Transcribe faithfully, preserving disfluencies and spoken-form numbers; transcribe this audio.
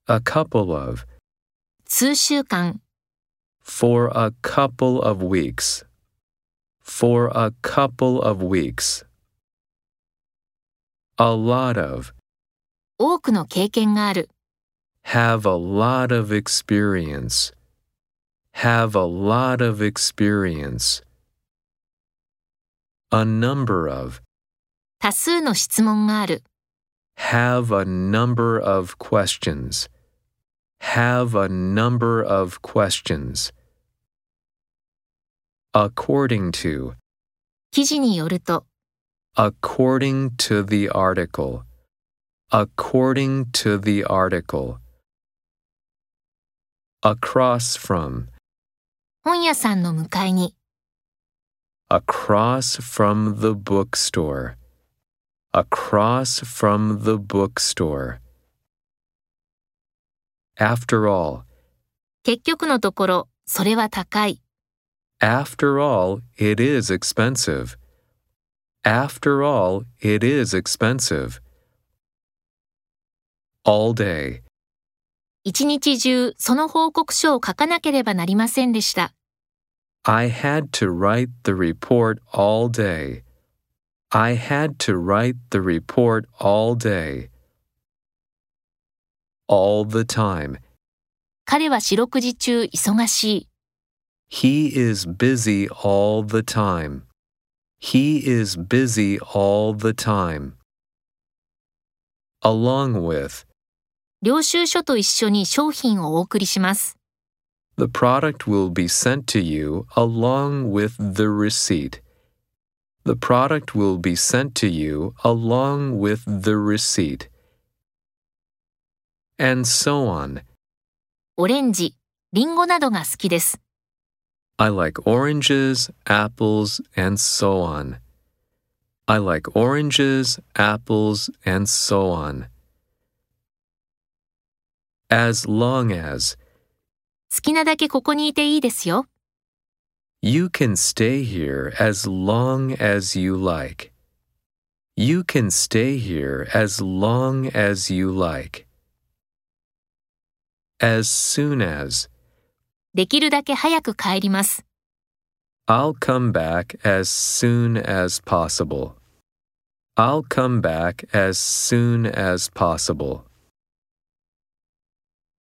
A couple of. 数週間 For a couple of weeks. For a couple of weeks. A lot of. 多くの経験がある Have a lot of experience. Have a lot of experience. A number of. 多数の質問がある Have a number of questions. Have a number of questions. According to. 記事によると According to the article. According to the article. Across from. 本屋さんの向かいに Across from the bookstore. Across from the bookstore. After all. 結局のところそれは高い After all, it is expensive. After all, it is expensive. All day. 一日中その報告書を書かなければなりませんでした I had to write the report all day. I had to write the report all day. All the time. 彼は四六時中忙しい He is busy all the time. He is busy all the time. Along with. 領収書と一緒に商品をお送りします The product will be sent to you along with the receipt. The product will be sent to you along with the receipt. And so on. オレンジ、リンゴなどが好きです I like oranges, apples, and so on. I like oranges, apples, and so on. As long as. 好きなだけここにいていいですよ You can stay here as long as you like. You can stay here as long as you like. As soon as. できるだけ早く帰ります I'll come back as soon as possible. I'll come back as soon as possible.